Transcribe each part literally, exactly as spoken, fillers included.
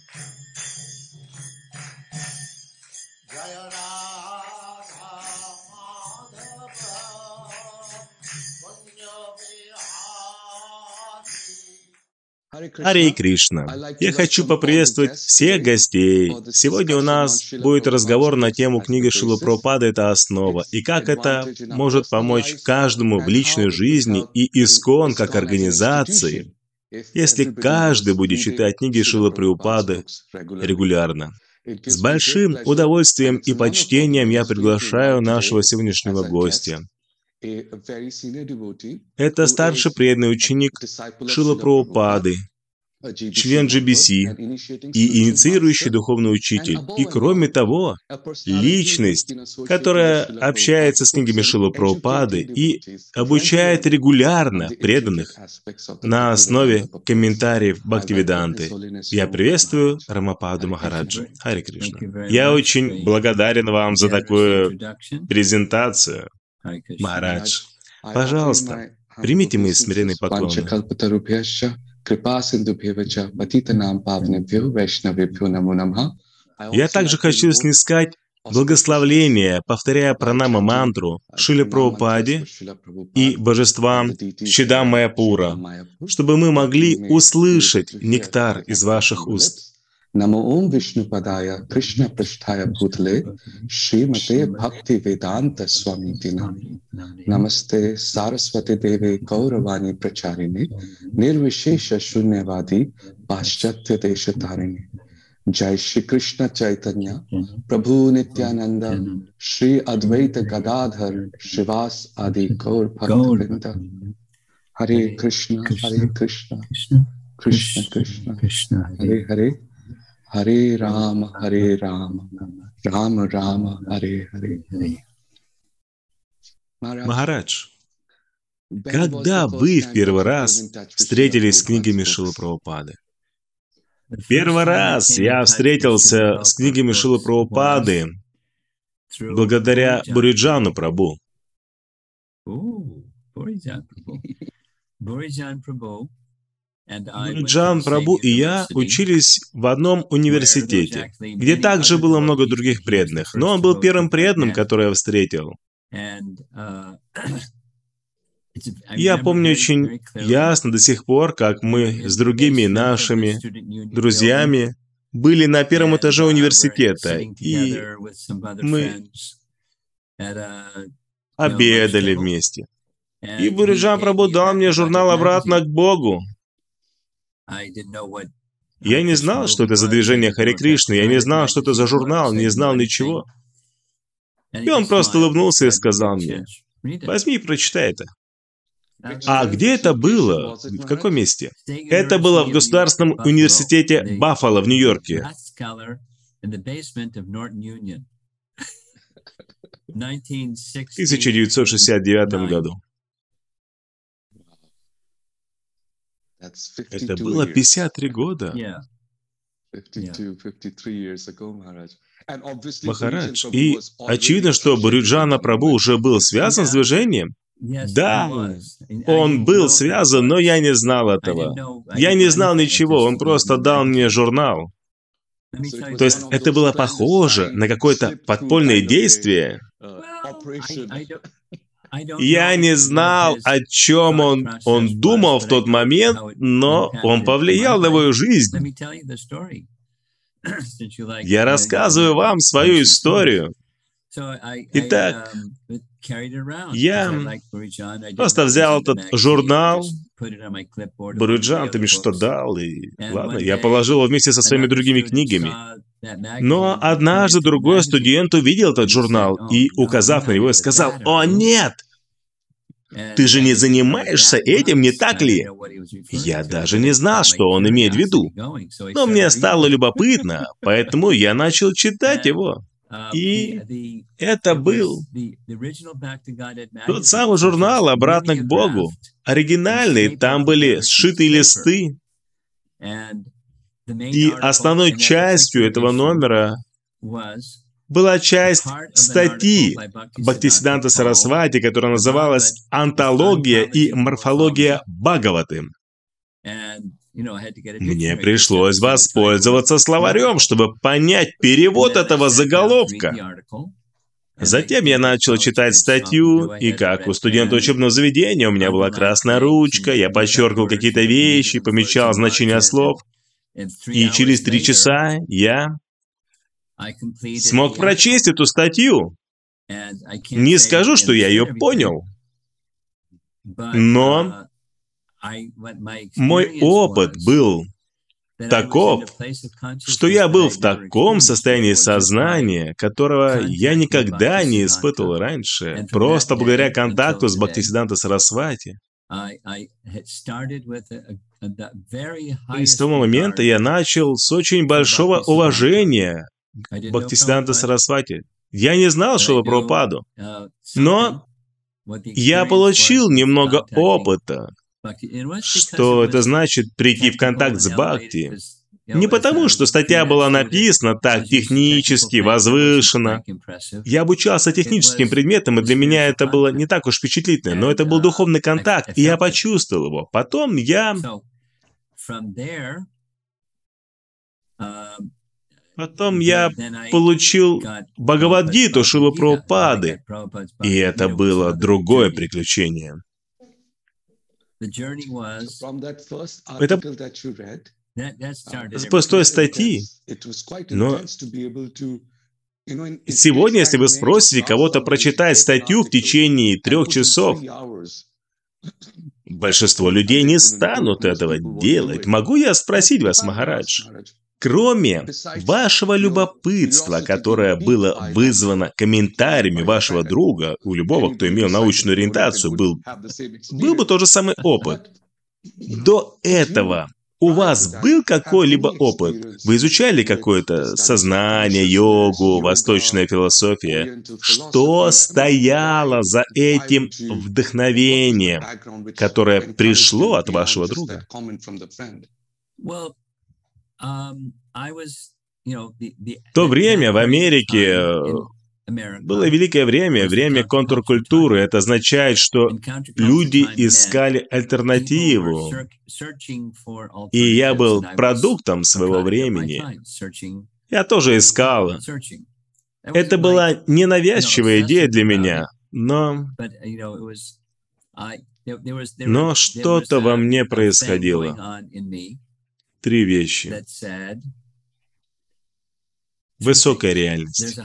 Харе Кришна. Я хочу поприветствовать всех гостей. Сегодня у нас будет разговор на тему книги Шрилы Прабхупады «Это основа» и как это может помочь каждому в личной жизни и ИСККОН как организации, если каждый будет читать книги Шрилы Прабхупады регулярно. С большим удовольствием и почтением я приглашаю нашего сегодняшнего гостя. Это старший преданный ученик Шрилы Прабхупады, член джи би си и инициирующий духовный учитель. И кроме того, личность, которая общается с книгами Шрилы Прабхупады и обучает регулярно преданных на основе комментариев Бхактивиданты. Я приветствую Рамападу Махараджа. Харе Кришна. Я очень благодарен вам за такую презентацию. Махарадж, пожалуйста, примите мои смиренные поклоны. Я также хочу снискать благословление, повторяя пранама мантру Шриле Прабхупаде и божествам Чидам Майяпура, чтобы мы могли услышать нектар из ваших уст. Namo Om Vishnupadaya Krishna Prasthaya Bhutale Srimate Bhakti Vedanta Swamiti Nami Namaste Saraswati Deve Gauravani Pracharine Nirvishesha Shunyavadi Paschatya Deshatarine Jai Shri Krishna Chaitanya Prabhu Nityananda Shri Advaita Gadadhar Shivas Adi Gaur Bhaktavinda Hare Krishna Hare Krishna Krishna Krishna Hare Hare Харе Рама, Харе Рама, Рама Рама, Харе Харе. Махарадж, когда вы в первый раз встретились с книгами Шрилы Прабхупады? Первый раз я встретился с книгами Шрилы Прабхупады благодаря Буриджану Прабху. Буриджан Прабху и я учились в одном университете, где также было много других преданных, но он был первым преданным, который я встретил. Я помню очень ясно до сих пор, как мы с другими нашими друзьями были на первом этаже университета, и мы обедали вместе. И Буриджан Прабху дал мне журнал «Обратно к Богу». Я не знал, что это за движение Харе Кришны, я не знал, что это за журнал, не знал ничего. И он просто улыбнулся и сказал мне: возьми и прочитай это. А где это было? В каком месте? Это было в Государственном университете Баффало в Нью-Йорке. В тысяча девятьсот шестьдесят девятом году. Это было пятьдесят три года. Махарадж. И очевидно, что Буриджана Прабху уже был связан с движением. Да, он был связан, но я не знал этого. Я не знал ничего, он просто дал мне журнал. То есть это было похоже на какое-то подпольное действие. Я не знал, о чем он, он думал в тот момент, но он повлиял на мою жизнь. Я рассказываю вам свою историю. Итак, я просто взял этот журнал, Буриджан, ты мне что дал, и ладно, я положил его вместе со своими другими книгами. Но однажды другой студент увидел этот журнал и, указав на него, сказал: «О, нет! Ты же не занимаешься этим, не так ли?» Я даже не знал, что он имеет в виду. Но мне стало любопытно, поэтому я начал читать его. И это был тот самый журнал «Обратно к Богу». Оригинальный, там были сшитые листы. И основной частью этого номера была часть статьи Бхактисиданта Сарасвати, которая называлась «Антология и морфология Бхагаваты». Мне пришлось воспользоваться словарем, чтобы понять перевод этого заголовка. Затем я начал читать статью, и как у студента учебного заведения, у меня была красная ручка, я подчеркивал какие-то вещи, помечал значения слов, и через три часа я смог прочесть эту статью. Не скажу, что я ее понял, но мой опыт был таков, что я был в таком состоянии сознания, которого я никогда не испытывал раньше, просто благодаря контакту с Бхактисиданта Сарасвати. И с того момента я начал с очень большого уважения к Бхактисиданта Сарасвати. Я не знал Шрилу Прабхупаду, но я получил немного опыта. Что это значит прийти в контакт с Бхакти? Не потому, что статья была написана так технически, возвышенно. Я обучался техническим предметам, и для меня это было не так уж впечатлительно, но это был духовный контакт, и я почувствовал его. Потом я... Потом я получил Бхагавад-гиту Шрилы Прабхупады, и это было другое приключение. Это с той статьи. Но сегодня, если вы спросите кого-то прочитать статью в течение трех часов, большинство людей не станут этого делать. Могу я спросить вас, Махарадж? Кроме вашего любопытства, которое было вызвано комментариями вашего друга, у любого, кто имел научную ориентацию, был, был бы тот же самый опыт. До этого у вас был какой-либо опыт? Вы изучали какое-то сознание, йогу, восточная философия? Что стояло за этим вдохновением, которое пришло от вашего друга? В то время в Америке было великое время, время контркультуры. Это означает, что люди искали альтернативу. И я был продуктом своего времени. Я тоже искал. Это была ненавязчивая идея для меня, но... Но что-то во мне происходило. Три вещи. Высокая реальность.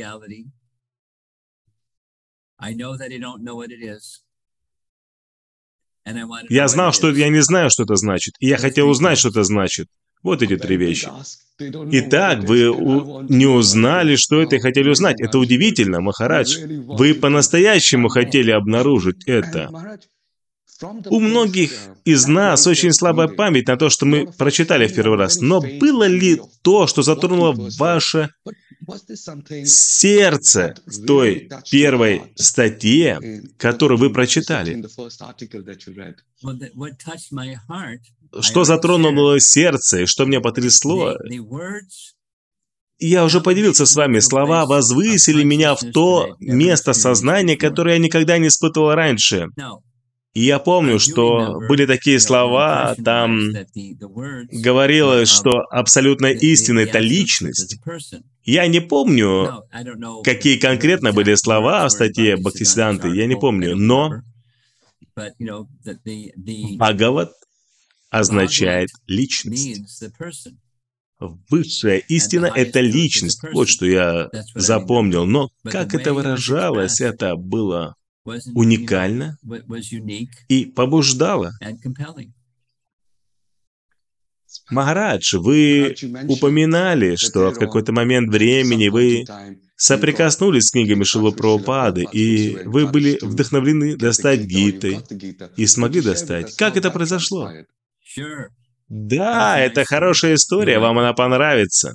Я знал, что я не знаю, что это значит, и я хотел узнать, что это значит. Вот эти три вещи. Итак, вы у... не узнали, что это, и хотели узнать. Это удивительно, Махарадж. Вы по-настоящему хотели обнаружить это. У многих из нас очень слабая память на то, что мы прочитали в первый раз. Но было ли то, что затронуло ваше сердце в той первой статье, которую вы прочитали? Что затронуло сердце и что меня потрясло? Я уже поделился с вами, слова возвысили меня в то место сознания, которое я никогда не испытывал раньше. И я помню, что были такие слова, там говорилось, что абсолютная истина — это личность. Я не помню, какие конкретно были слова в статье Бхактисиданты, я не помню, но Бхагават означает личность. Высшая истина — это личность. Вот что я запомнил. Но как это выражалось, это было уникально и побуждало. Махарадж, вы упоминали, что в какой-то момент времени вы соприкоснулись с книгами Шрилы Прабхупады, и вы были вдохновлены достать Гиты, и смогли достать. Как это произошло? Да, это хорошая история, вам она понравится.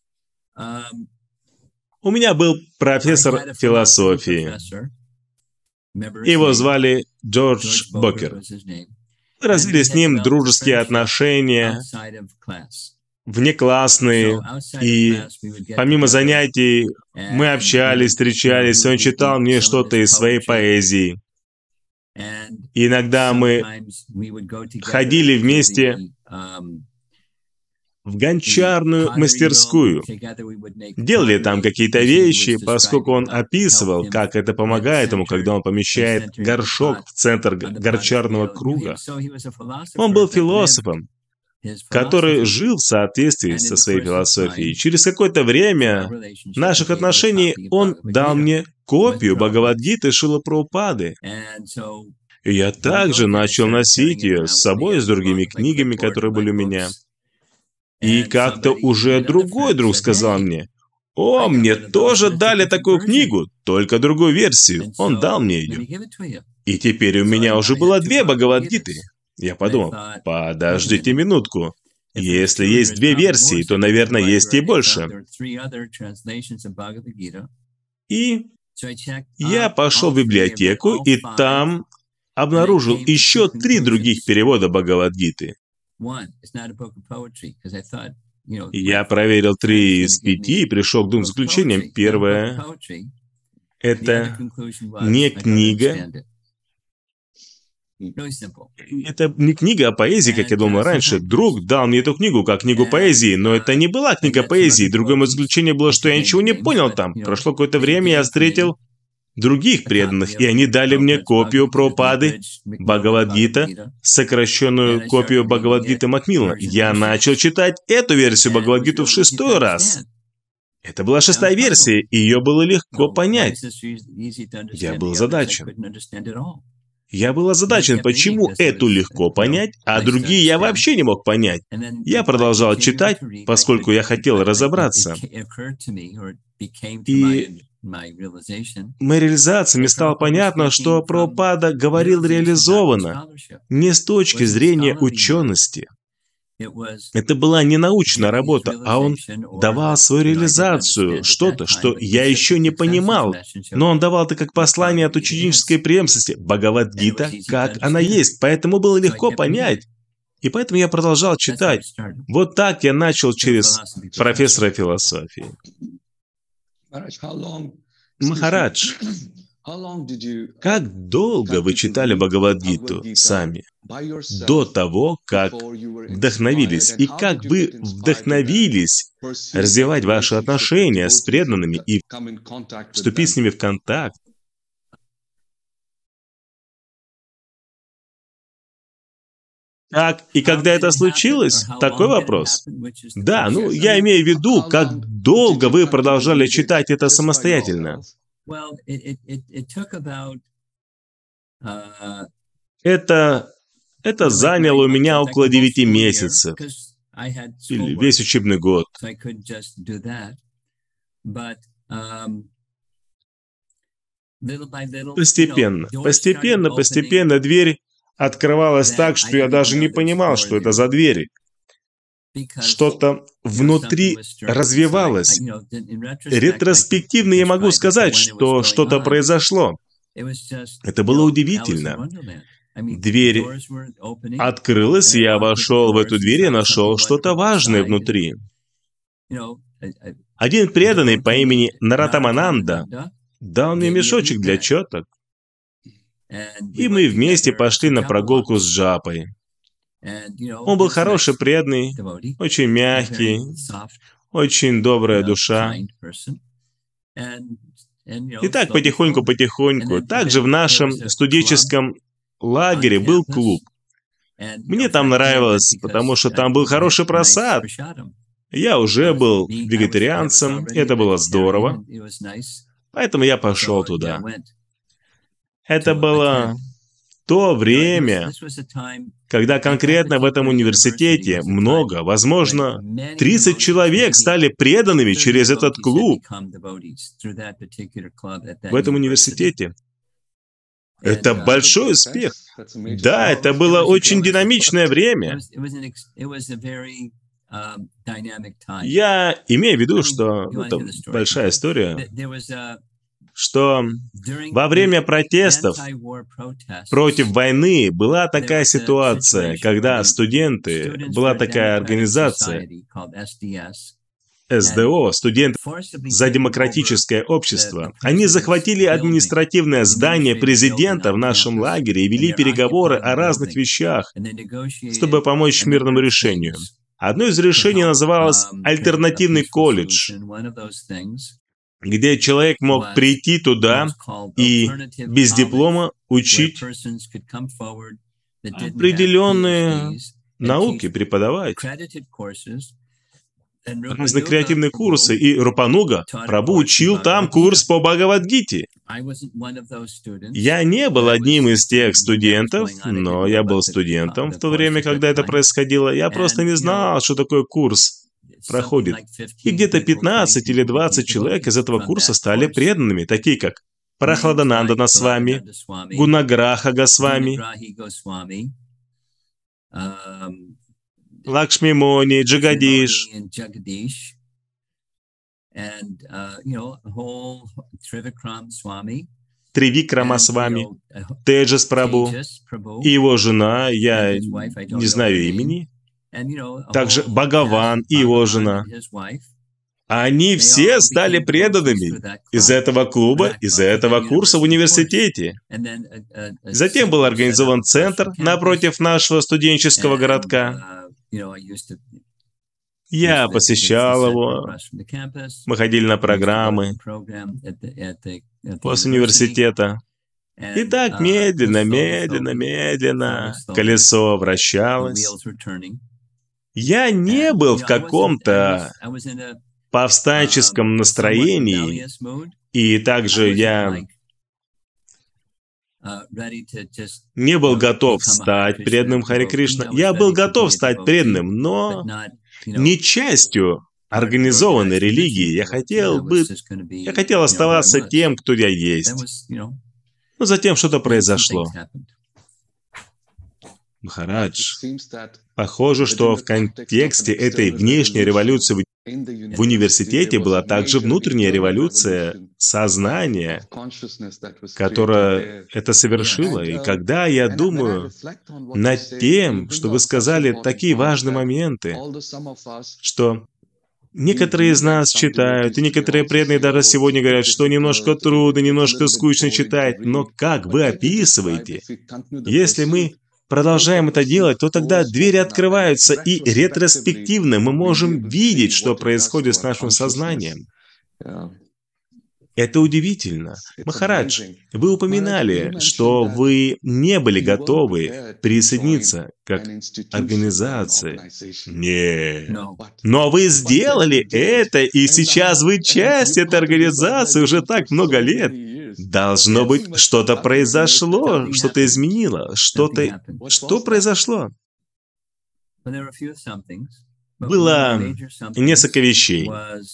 У меня был профессор философии. Его звали Джордж Бокер. Мы развили с ним дружеские отношения, внеклассные, и помимо занятий мы общались, встречались, он читал мне что-то из своей поэзии. И иногда мы ходили вместе в гончарную мастерскую, делали там какие-то вещи, поскольку он описывал, как это помогает ему, когда он помещает горшок в центр гончарного круга. Он был философом, который жил в соответствии со своей философией. Через какое-то время наших отношений он дал мне копию Бхагавад-гиты Шрилы Прабхупады. И я также начал носить ее с собой, с другими книгами, которые были у меня. И как-то уже другой друг сказал мне: «О, мне тоже дали такую книгу, только другую версию». Он дал мне ее. И теперь у меня уже было две Бхагавад-гиты. Я подумал: подождите минутку. Если есть две версии, то, наверное, есть и больше. И я пошел в библиотеку, и там обнаружил еще три других перевода Бхагавад-гиты. Я проверил три из пяти и пришел к двум заключениям. Первое — это не книга. Это не книга о поэзии, как я думал раньше. Друг дал мне эту книгу как книгу поэзии, но это не была книга поэзии. Другое мое заключение было, что я ничего не понял там. Прошло какое-то время, я встретил других преданных, и они дали мне копию Прабхупады Бхагавад-гита, сокращенную копию Бхагавад-гиты Макмиллана. Я начал читать эту версию Бхагавад-гиту в шестой раз. Это была шестая версия, и ее было легко понять. Я был озадачен. Я был озадачен, почему эту легко понять, а другие я вообще не мог понять. Я продолжал читать, поскольку я хотел разобраться. И моей реализации мне стало понятно, что Прабхупада говорил реализованно, не с точки зрения учености. Это была не научная работа, а он давал свою реализацию, что-то, что я еще не понимал, но он давал это как послание от ученической преемственности, Бхагавад-гита, как она есть, поэтому было легко понять. И поэтому я продолжал читать. Вот так я начал через профессора философии. Махарадж, как долго вы читали Бхагавад-гиту сами, до того, как вдохновились, и как вы вдохновились развивать ваши отношения с преданными и вступить с ними в контакт? Как и когда это случилось? Такой вопрос. Да, ну, я имею в виду, как долго вы продолжали читать это самостоятельно. Это, это заняло у меня около девяти месяцев, или весь учебный год. Постепенно, постепенно, постепенно дверь открывалась так, что я даже не понимал, что это за двери. Что-то внутри развивалось. Ретроспективно я могу сказать, что что-то произошло. Это было удивительно. Дверь открылась, и я вошел в эту дверь и нашел что-то важное внутри. Один преданный по имени Наратамананда дал мне мешочек для четок, и мы вместе пошли на прогулку с джапой. Он был хороший преданный, очень мягкий, очень добрая душа. И так потихоньку-потихоньку. Также в нашем студенческом лагере был клуб. Мне там нравилось, потому что там был хороший просад. Я уже был вегетарианцем, это было здорово. Поэтому я пошел туда. Это было то время, когда конкретно в этом университете много, возможно, тридцать человек стали преданными через этот клуб. В этом университете. Это большой успех. Да, это было очень динамичное время. Я имею в виду, что ну, это большая история, что во время протестов против войны была такая ситуация, когда студенты, была такая организация, эс дэ о, студенты за демократическое общество. Они захватили административное здание президента в нашем лагере и вели переговоры о разных вещах, чтобы помочь мирному решению. Одно из решений называлось «Альтернативный колледж», где человек мог прийти туда и без диплома учить определенные науки, преподавать. Разные креативные курсы, и Рупануга Прабху учил там курс по Бхагавад-гите. Я не был одним из тех студентов, но я был студентом в то время, когда это происходило. Я просто не знал, что такое курс проходит. И где-то пятнадцать или двадцать человек из этого курса стали преданными, такие как Прахладананда Госвами, Гунаграха Госвами, Лакшми Муни, Джагадиш, Тривикрама Свами, Теджас Прабху и его жена, я не знаю имени, также Бхагаван и его жена. Они все стали преданными из этого клуба, из этого курса в университете. Затем был организован центр напротив нашего студенческого городка. Я посещал его, мы ходили на программы после университета. И так медленно, медленно, медленно колесо вращалось. Я не был в каком-то повстанческом настроении, и также я не был готов стать преданным Харе Кришна. Я был готов стать преданным, но не частью организованной религии. Я хотел быть, я хотел оставаться тем, кто я есть. Но затем что-то произошло. Махарадж, похоже, что в контексте этой внешней революции в университете была также внутренняя революция сознания, которая это совершила. И когда я думаю над тем, что вы сказали такие важные моменты, что некоторые из нас читают, и некоторые преданные даже сегодня говорят, что немножко трудно, немножко скучно читать, но как вы описываете, если мы продолжаем это делать, то тогда двери открываются, и ретроспективно мы можем видеть, что происходит с нашим сознанием. Это удивительно. Махарадж, вы упоминали, что вы не были готовы присоединиться как организация. Нет. Но вы сделали это, и сейчас вы часть этой организации уже так много лет. Должно быть, что-то произошло, что-то изменило, что-то... Что произошло? Было несколько вещей.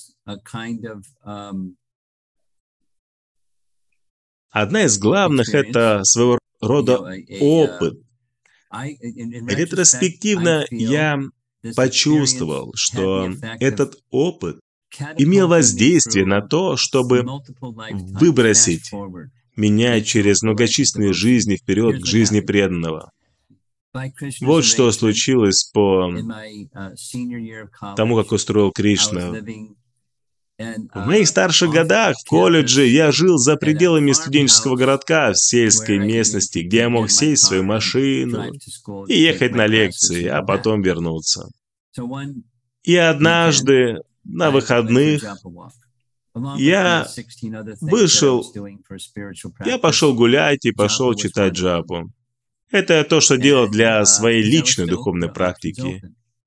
Одна из главных — это своего рода опыт. Ретроспективно я почувствовал, что этот опыт имел воздействие на то, чтобы выбросить меня через многочисленные жизни вперед к жизни преданного. Вот что случилось по тому, как устроил Кришна. В моих старших годах в колледже я жил за пределами студенческого городка в сельской местности, где я мог сесть в свою машину и ехать на лекции, а потом вернуться. И однажды на выходных я вышел, я пошел гулять и пошел читать джапу. Это то, что делал для своей личной духовной практики.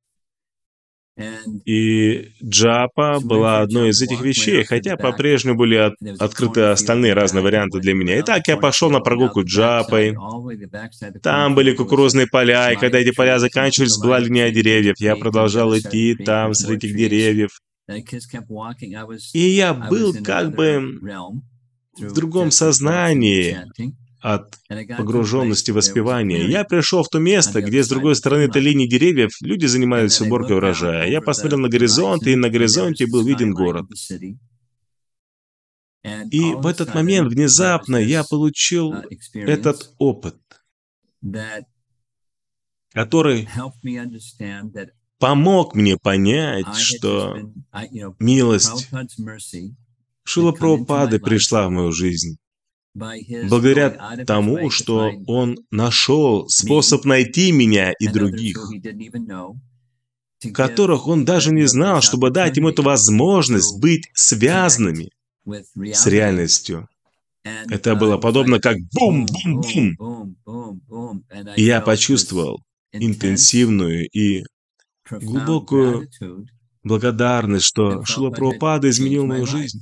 И джапа была одной из этих вещей, хотя по-прежнему были от, открыты остальные разные варианты для меня. Итак, я пошел на прогулку джапой. Там были кукурузные поля, и когда эти поля заканчивались, была линия деревьев. Я продолжал идти там, среди этих деревьев. И я был как бы в другом сознании от погруженности в воспевание. Я пришел в то место, где с другой стороны этой линии деревьев люди занимались уборкой урожая. Я посмотрел на горизонт, и на горизонте был виден город. И в этот момент внезапно я получил этот опыт, который помог мне понять, что милость Шрила Прабхупады пришла в мою жизнь благодаря тому, что он нашел способ найти меня и других, которых он даже не знал, чтобы дать им эту возможность быть связанными с реальностью. Это было подобно как бум-бум-бум. И я почувствовал интенсивную и глубокую благодарность, что Шрила Прабхупада изменил мою жизнь.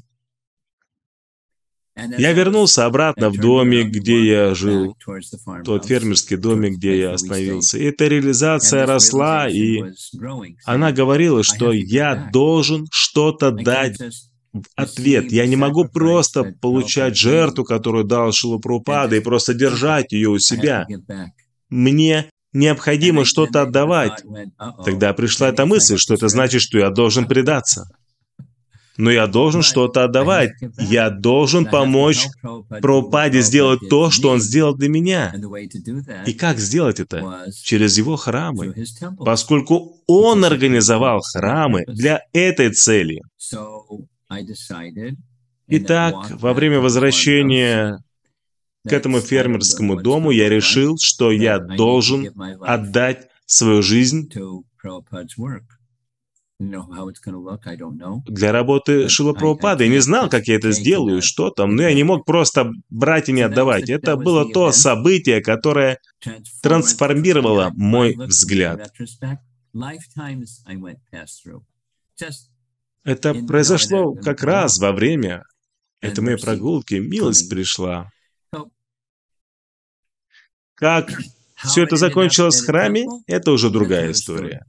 Я вернулся обратно в домик, где я жил, тот фермерский домик, где я остановился. И эта реализация росла, и она говорила, что я должен что-то дать в ответ. Я не могу просто получать жертву, которую дал Шрила Прабхупада, и просто держать ее у себя. Мне необходимо что-то отдавать. Тогда пришла эта мысль, что это значит, что я должен предаться. Но я должен что-то отдавать. Я должен помочь Прабхупаде сделать то, что он сделал для меня. И как сделать это? Через его храмы. Поскольку он организовал храмы для этой цели. Итак, во время возвращения к этому фермерскому дому я решил, что я должен отдать свою жизнь для работы Шрила Прабхупады. Я не знал, как я это сделаю, что там, но я не мог просто брать и не отдавать. Это было то событие, которое трансформировало мой взгляд. Это произошло как раз во время этой моей прогулки. Милость пришла. Как все это закончилось в храме, это уже другая история.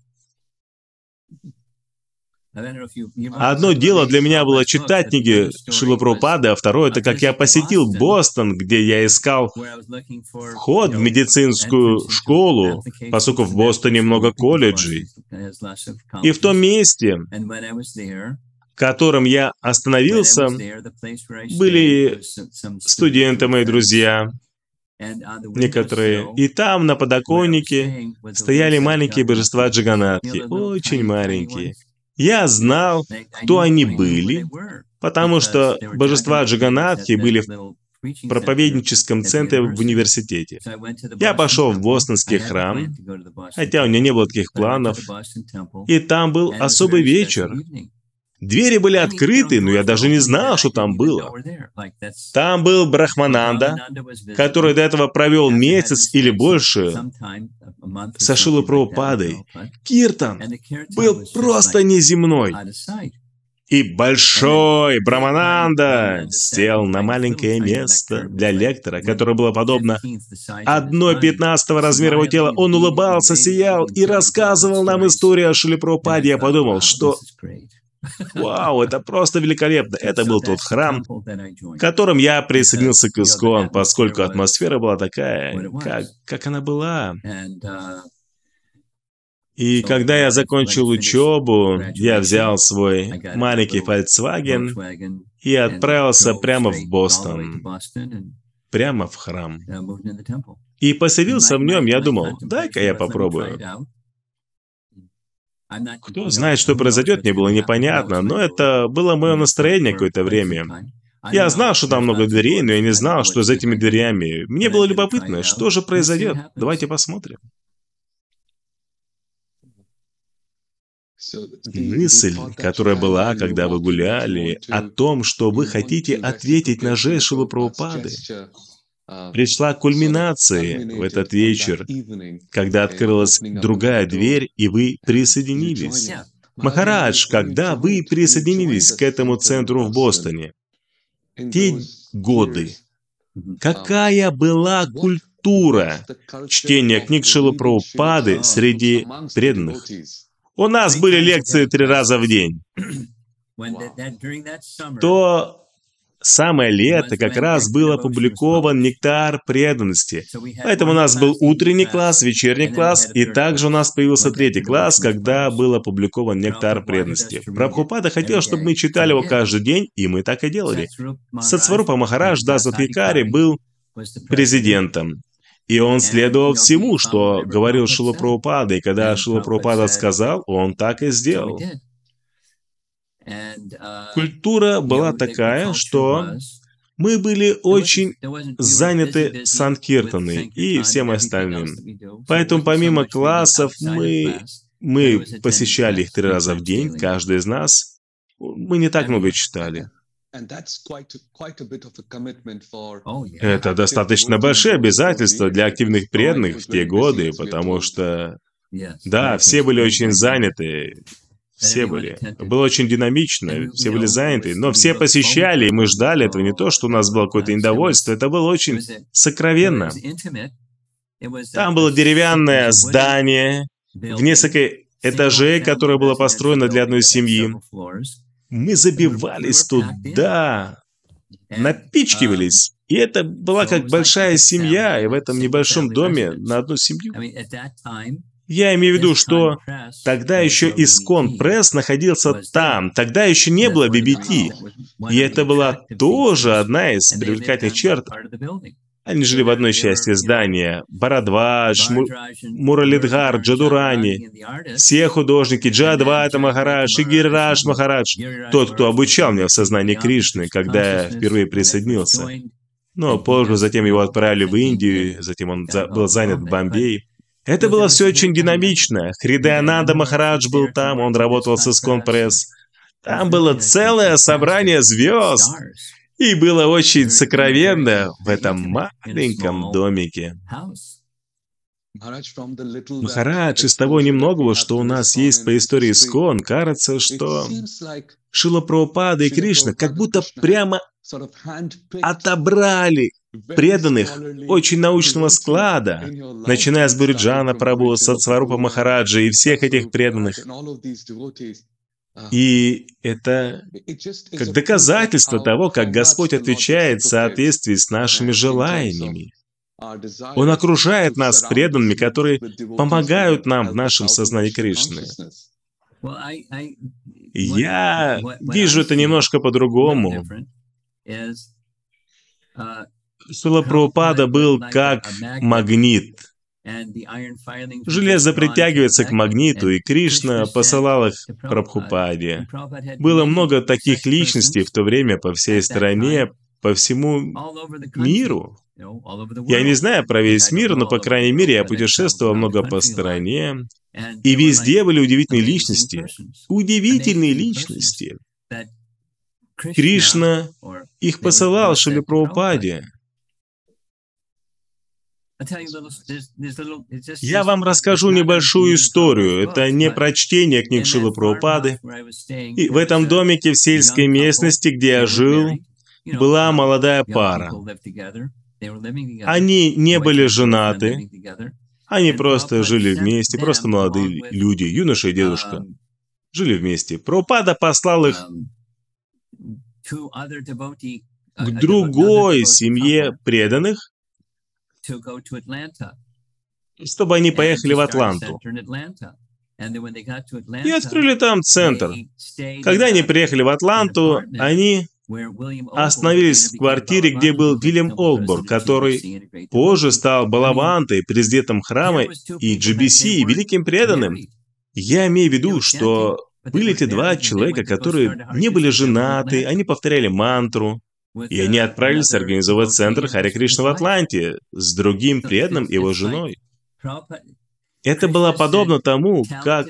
Одно дело для меня было читать книги Шрилы Прабхупады, а второе — это как я посетил Бостон, где я искал вход в медицинскую школу, поскольку в Бостоне много колледжей. И в том месте, в котором я остановился, были студенты, мои друзья, некоторые. И там на подоконнике стояли маленькие божества Джаганатхи, очень маленькие. Я знал, кто они были, потому что божества Джаганатхи были в проповедническом центре в университете. Я пошел в бостонский храм, хотя у меня не было таких планов, и там был особый вечер. Двери были открыты, но я даже не знал, что там было. Там был Брахмананда, который до этого провел месяц или больше со Шрилой Прабхупадой. Киртан был просто неземной. И большой Брахмананда сел на маленькое место для лектора, которое было подобно одной пятнадцатого размера его тела. Он улыбался, сиял и рассказывал нам историю о Шриле Прабхупаде. Я подумал, что... Вау, это просто великолепно. Это был тот храм, в котором я присоединился к Искон, поскольку атмосфера была такая, как, как она была. И когда я закончил учебу, я взял свой маленький Volkswagen и отправился прямо в Бостон, прямо в храм. И поселился в нем, я думал, дай-ка я попробую. Кто знает, что произойдет, мне было непонятно, но это было мое настроение какое-то время. Я знал, что там много дверей, но я не знал, что за этими дверями. Мне было любопытно, что же произойдет. Давайте посмотрим. Мысль, которая была, когда вы гуляли, о том, что вы хотите ответить на жест Шрилы Прабхупады, пришла к кульминации в этот вечер, когда открылась другая дверь, и вы присоединились. Махарадж, когда вы присоединились к этому центру в Бостоне, те годы, какая была культура чтения книг Шрилы Прабхупады среди преданных? У нас были лекции три раза в день. То самое лето как раз был опубликован «Нектар преданности». Поэтому у нас был утренний класс, вечерний класс, и также у нас появился третий класс, когда был опубликован «Нектар преданности». Прабхупада хотел, чтобы мы читали его каждый день, и мы так и делали. Сатсварупа Махарадж Дас Адхикари был президентом. И он следовал всему, что говорил Шрила Прабхупада. И когда Шрила Прабхупада сказал, он так и сделал. Культура была такая, что мы были очень заняты санкиртаной и всем остальным. Поэтому помимо классов мы, мы посещали их три раза в день, каждый из нас. Мы не так много читали. Это достаточно большие обязательства для активных преданных в те годы, потому что, да, все были очень заняты. Все были. Было очень динамично, все были заняты, но все посещали, и мы ждали этого. Не то, что у нас было какое-то недовольство, это было очень сокровенно. Там было деревянное здание в несколько этажей, которое было построено для одной семьи. Мы забивались туда, напичкивались. И это была как большая семья, и в этом небольшом доме на одну семью. Я имею в виду, что тогда еще Искон Пресс находился там, тогда еще не было би би ти. И это была тоже одна из привлекательных черт. Они жили в одной части здания. Бхарадвадж, Муралидхар, Джадурани, все художники, Джадвата Махарадж и Гиридж Махарадж. Тот, кто обучал меня в сознании Кришны, когда я впервые присоединился. Но позже затем его отправили в Индию, затем он за, был занят в Бомбее. Это было все очень динамично. Хридаянанда Махарадж был там, он работал с Искон Пресс. Там было целое собрание звезд. И было очень сокровенно в этом маленьком домике. Махарадж, из того немногого, что у нас есть по истории Искон, кажется, что Шрила Прабхупада и Кришна как будто прямо отобрали преданных очень научного склада, начиная с Буриджана Прабху, Сатсварупа Махараджа и всех этих преданных. И это как доказательство того, как Господь отвечает в соответствии с нашими желаниями. Он окружает нас преданными, которые помогают нам в нашем сознании Кришны. Я вижу это немножко по-другому. Шрила Прабхупада был как магнит. Железо притягивается к магниту, и Кришна посылал их Прабхупаде. Было много таких личностей в то время по всей стране, по всему миру. Я не знаю про весь мир, но, по крайней мере, я путешествовал много по стране, и везде были удивительные личности. Удивительные личности. Кришна их посылал Шриле Прабхупаде. Я вам расскажу небольшую историю. Это не про чтение книг Шрилы Прабхупады. И в этом домике в сельской местности, где я жил, была молодая пара. Они не были женаты. Они просто жили вместе, просто молодые люди, юноша и дедушка. Жили вместе. Прабхупада послал их к другой семье преданных, чтобы они поехали в Атланту. И открыли там центр. Когда они приехали в Атланту, они остановились в квартире, где был Вильям Олдборг, который позже стал Балавантой, президентом храма, и джи би си, великим преданным. Я имею в виду, что были эти два человека, которые не были женаты, они повторяли мантру, и они отправились организовать центр Харе Кришна в Атланте с другим преданным и его женой. Это было подобно тому, как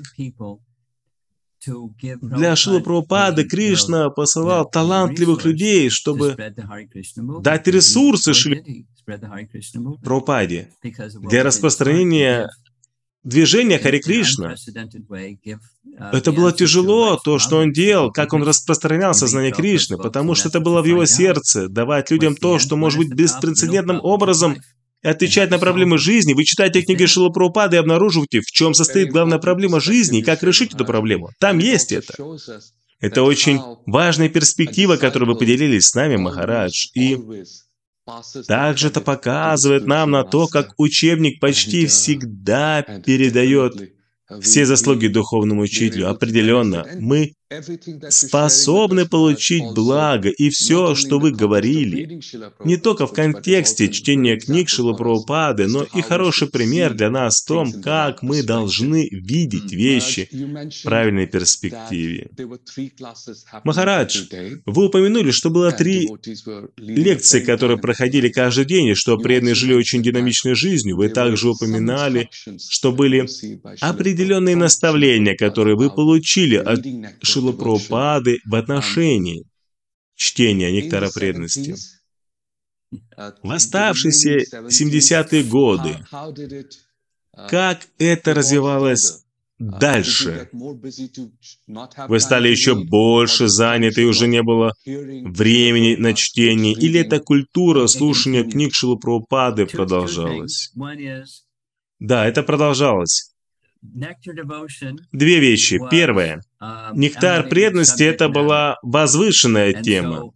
для Шрилы Прабхупады Кришна посылал талантливых людей, чтобы дать ресурсы Шриле Прабхупаде для распространения движения Харе Кришна. Это было тяжело, то, что он делал, как он распространял сознание Кришны, потому что это было в его сердце, давать людям то, что может быть беспрецедентным образом и отвечать на проблемы жизни. Вы читаете книги Шрилы Прабхупады и обнаруживаете, в чем состоит главная проблема жизни и как решить эту проблему. Там есть это. Это очень важная перспектива, которую вы поделились с нами, Махарадж. И также это показывает нам на то, как учебник почти всегда передает все заслуги духовному учителю. Определенно, мы способны получить благо, и все, что вы говорили, не только в контексте чтения книг Шрилы Прабхупады, но и хороший пример для нас в том, как мы должны видеть вещи в правильной перспективе. Махарадж, вы упомянули, что было три лекции, которые проходили каждый день, и что преданные жили очень динамичной жизнью. Вы также упоминали, что были определенные наставления, которые вы получили от Шрилы Прабхупады в отношении чтения нектара преданности. В оставшиеся семидесятые годы, как это развивалось дальше? Вы стали еще больше заняты, и уже не было времени на чтение? Или эта культура слушания книг Шрилы Прабхупады продолжалась? Да, это продолжалось. Две вещи. Первое. Нектар преданности — это была возвышенная тема.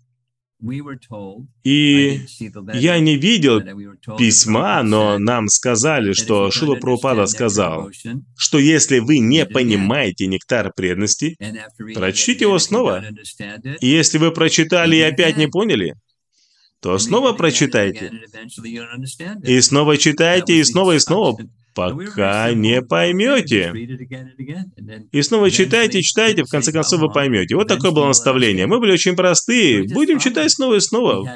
И я не видел письма, но нам сказали, что Шрила Прабхупада сказал, что если вы не понимаете нектар преданности, прочтите его снова. И если вы прочитали и опять не поняли, то снова прочитайте. И снова читайте, и снова, и снова, пока не поймете. И снова читайте, читайте, в конце концов вы поймете. Вот такое было наставление. Мы были очень простые. Будем читать снова и снова.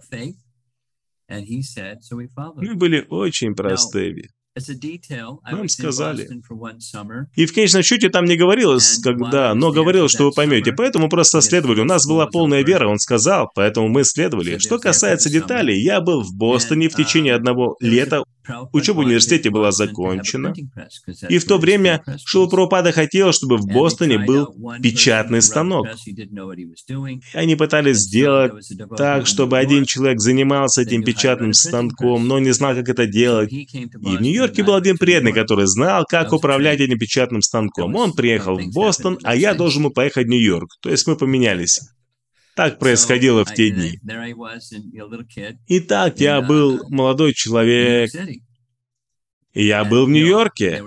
Мы были очень простыми. Нам сказали. И в конечном счете там не говорилось, когда, но говорилось, что вы поймете. Поэтому просто следовали. У нас была полная вера, он сказал, поэтому мы следовали. Что касается деталей, я был в Бостоне в течение одного лета. Учеба в университете была закончена. И в то время Шрила Прабхупада хотел, чтобы в Бостоне был печатный станок. И они пытались сделать так, чтобы один человек занимался этим печатным станком, но не знал, как это делать. И в Нью-Йорке был один преданный, который знал, как управлять этим печатным станком. Он приехал в Бостон, а я должен был поехать в Нью-Йорк. То есть мы поменялись. Так происходило в те дни. Итак, я был молодой человек, и я был в Нью-Йорке,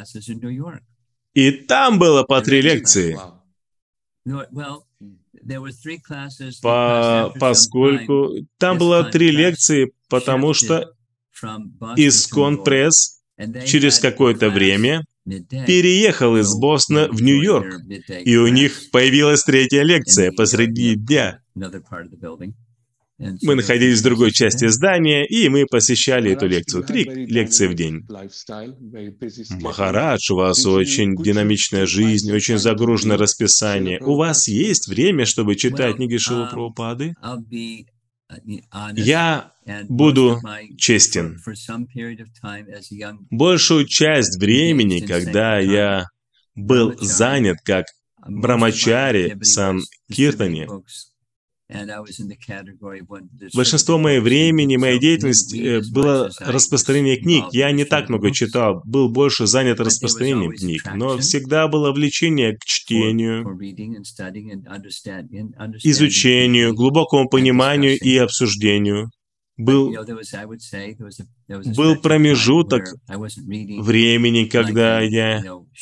и там было по три лекции. По, поскольку там было три лекции, потому что Искон Пресс через какое-то время переехал из Бостона в Нью-Йорк, и у них появилась третья лекция посреди дня. Мы находились в другой части здания, и мы посещали эту лекцию. Три лекции в день. Махарадж, у вас очень динамичная жизнь, очень загруженное расписание. У вас есть время, чтобы читать книги Шрилы Прабхупады? Я буду честен. Большую часть времени, когда я был занят как брамачари в Санкиртане, большинство моего времени, моей деятельности было распространение книг. Я не так много читал, был больше занят распространением книг, но всегда было влечение к чтению, изучению, глубокому пониманию и обсуждению. Был, был промежуток времени, когда я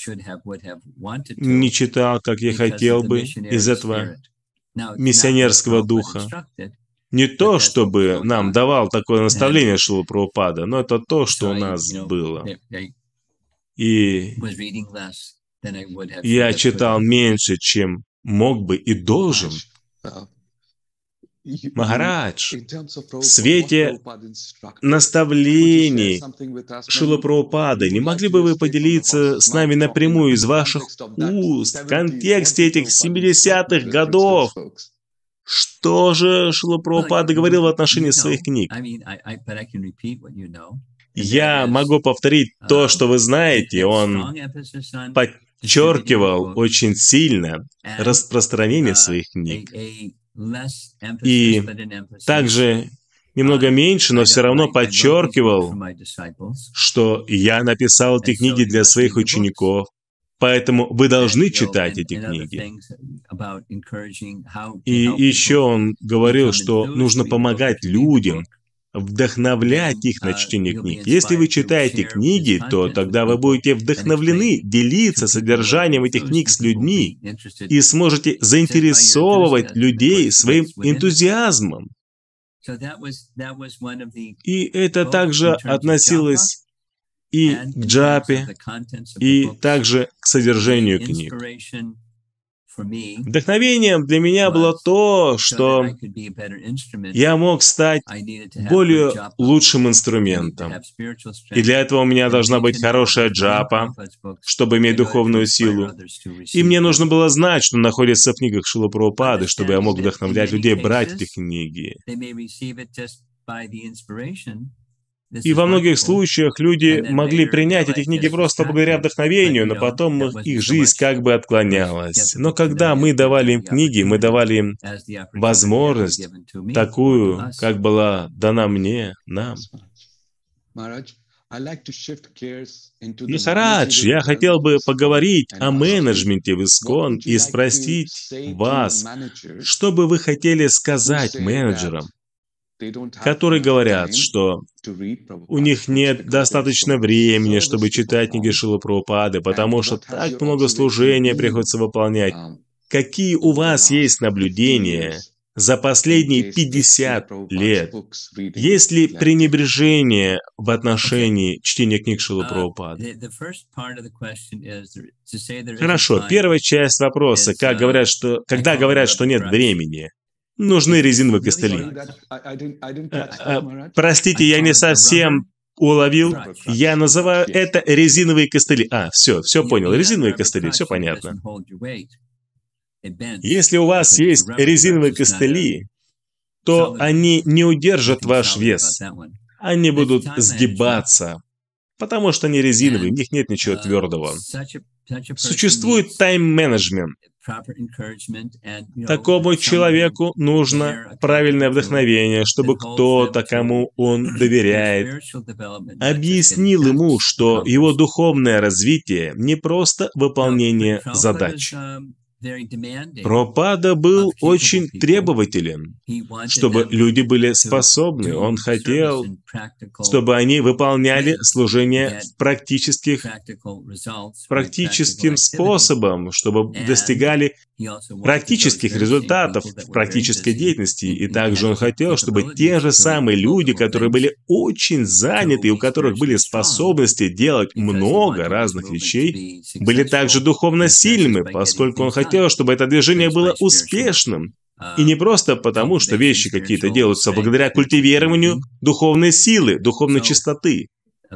не читал, как я хотел бы, из этого миссионерского духа. Не то, чтобы нам давал такое наставление Шрила Прабхупада, но это то, что у нас было. И я читал меньше, чем мог бы и должен. Махарадж, в свете наставлений Шрилы Прабхупады, не могли бы вы поделиться с нами напрямую из ваших уст в контексте этих семидесятых годов? Что же Шрила Прабхупада говорил в отношении своих книг? Я могу повторить то, что вы знаете. Он подчеркивал очень сильно распространение своих книг. И также немного меньше, но все равно подчеркивал, что я написал эти книги для своих учеников, поэтому вы должны читать эти книги. И еще он говорил, что нужно помогать людям вдохновлять их на чтение книг. Если вы читаете книги, то тогда вы будете вдохновлены делиться содержанием этих книг с людьми и сможете заинтересовывать людей своим энтузиазмом. И это также относилось и к джапе, и также к содержанию книг. Вдохновением для меня было то, что я мог стать более лучшим инструментом. И для этого у меня должна быть хорошая джапа, чтобы иметь духовную силу. И мне нужно было знать, что находится в книгах Шрилы Прабхупады, чтобы я мог вдохновлять людей брать эти книги. И во многих случаях люди могли принять эти книги просто благодаря вдохновению, но потом их жизнь как бы отклонялась. Но когда мы давали им книги, мы давали им возможность такую, как была дана мне, нам. Махарадж, я хотел бы поговорить о менеджменте в ИСККОН и спросить вас, что бы вы хотели сказать менеджерам, которые говорят, что у них нет достаточно времени, чтобы читать книги Шрилы Прабхупады, потому что так много служения приходится выполнять. Какие у вас есть наблюдения за последние пятьдесят лет? Есть ли пренебрежение в отношении чтения книг Шрилы Прабхупады? Хорошо, первая часть вопроса, как говорят, что, когда говорят, что нет времени. Нужны резиновые костыли. Простите, я не совсем уловил. Я называю это резиновые костыли. А, все, все понял. Резиновые костыли, все понятно. Если у вас есть резиновые костыли, то они не удержат ваш вес. Они будут сгибаться, потому что они резиновые, в них нет ничего твердого. Существует тайм-менеджмент. Такому человеку нужно правильное вдохновение, чтобы кто-то, кому он доверяет, объяснил ему, что его духовное развитие не просто выполнение задач. Прабхупада был очень требователен, чтобы люди были способны. Он хотел, чтобы они выполняли служение практических, практическим способом, чтобы достигали практических результатов в практической деятельности. И также он хотел, чтобы те же самые люди, которые были очень заняты и у которых были способности делать много разных вещей, были также духовно сильными, поскольку он хотел, чтобы это движение было успешным. И не просто потому, что вещи какие-то делаются благодаря культивированию духовной силы, духовной чистоты.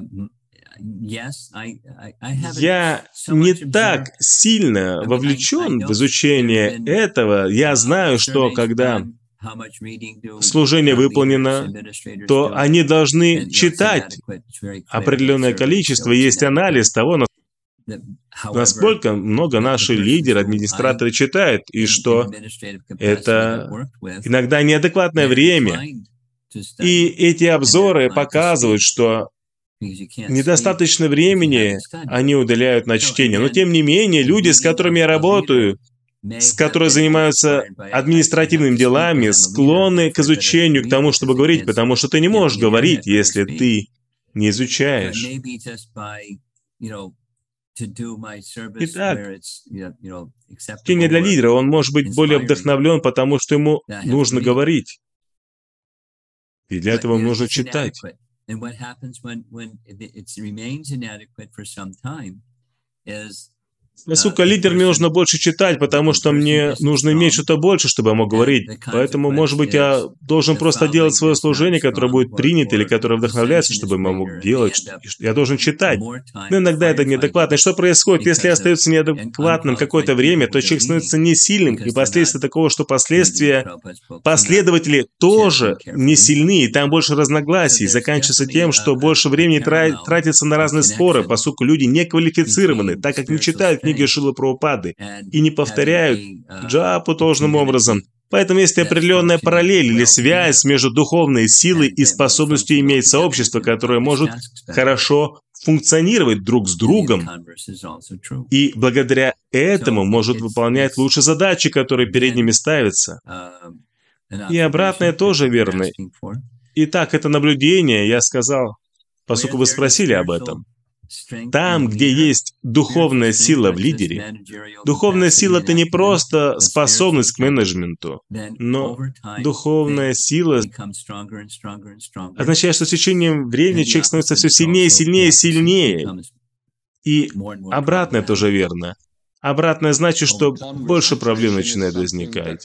Я не так сильно вовлечен в изучение этого. Я знаю, что когда служение выполнено, то они должны читать определенное количество. Есть анализ того, насколько много наши лидеры, администраторы читают, и что это иногда неадекватное время. И эти обзоры показывают, что недостаточно времени они уделяют на чтение. Но тем не менее, люди, с которыми я работаю, с которыми занимаются административными делами, склонны к изучению, к тому, чтобы говорить, потому что ты не можешь говорить, если ты не изучаешь. Итак, чтение для лидера, он может быть более вдохновлен, потому что ему нужно говорить. И для этого нужно читать. Поскольку лидер, мне нужно больше читать, потому что мне нужно иметь что-то больше, чтобы я мог говорить. Поэтому, может быть, я должен просто делать свое служение, которое будет принято, или которое вдохновляется, чтобы я мог делать. Я должен читать. Но иногда это неадекватно. И что происходит? Если остается неадекватным какое-то время, то человек становится не сильным. И последствия такого, что последствия последователи тоже не сильны, и там больше разногласий. И заканчивается тем, что больше времени тратится на разные споры, поскольку люди не квалифицированы, так как не читают книги Шрилы Прабхупады и не повторяют джапу должным образом. Поэтому есть определенная параллель или связь между духовной силой и способностью иметь сообщество, которое может хорошо функционировать друг с другом, и благодаря этому может выполнять лучше задачи, которые перед ними ставятся. И обратное тоже верно. Итак, это наблюдение, я сказал, поскольку вы спросили об этом. Там, где есть духовная сила в лидере, духовная сила — это не просто способность к менеджменту, но духовная сила означает, что с течением времени человек становится все сильнее, сильнее, сильнее. И обратное тоже верно. Обратное значит, что больше проблем начинает возникать.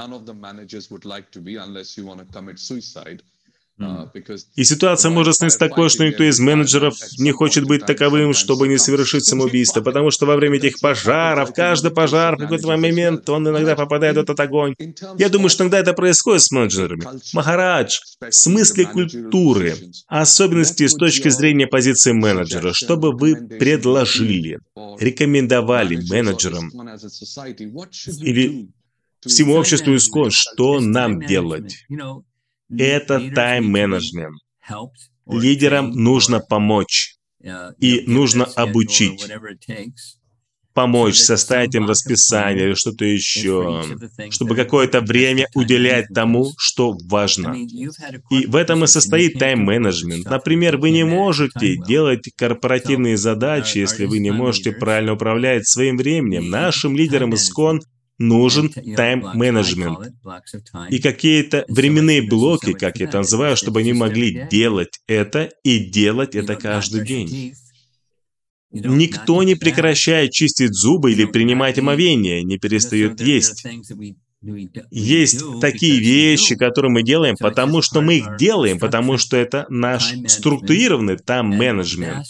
И ситуация может стать такой, что никто из менеджеров не хочет быть таковым, чтобы не совершить самоубийство, потому что во время этих пожаров, каждый пожар в какой-то момент, он иногда попадает в этот огонь. Я думаю, что иногда это происходит с менеджерами. Махарадж, в смысле культуры, особенности с точки зрения позиции менеджера, что бы вы предложили, рекомендовали менеджерам или всему обществу ИСККОН, что нам делать? Это тайм-менеджмент. Лидерам нужно помочь. И нужно обучить. Помочь, составить им расписание или что-то еще, чтобы какое-то время уделять тому, что важно. И в этом и состоит тайм-менеджмент. Например, вы не можете делать корпоративные задачи, если вы не можете правильно управлять своим временем. Нашим лидерам ИСККОН нужен тайм-менеджмент и какие-то временные блоки, как я это называю, чтобы они могли делать это и делать это каждый день. Никто не прекращает чистить зубы или принимать омовение, не перестает есть. Есть такие вещи, которые мы делаем, потому что мы их делаем, потому что это наш структурированный тайм-менеджмент.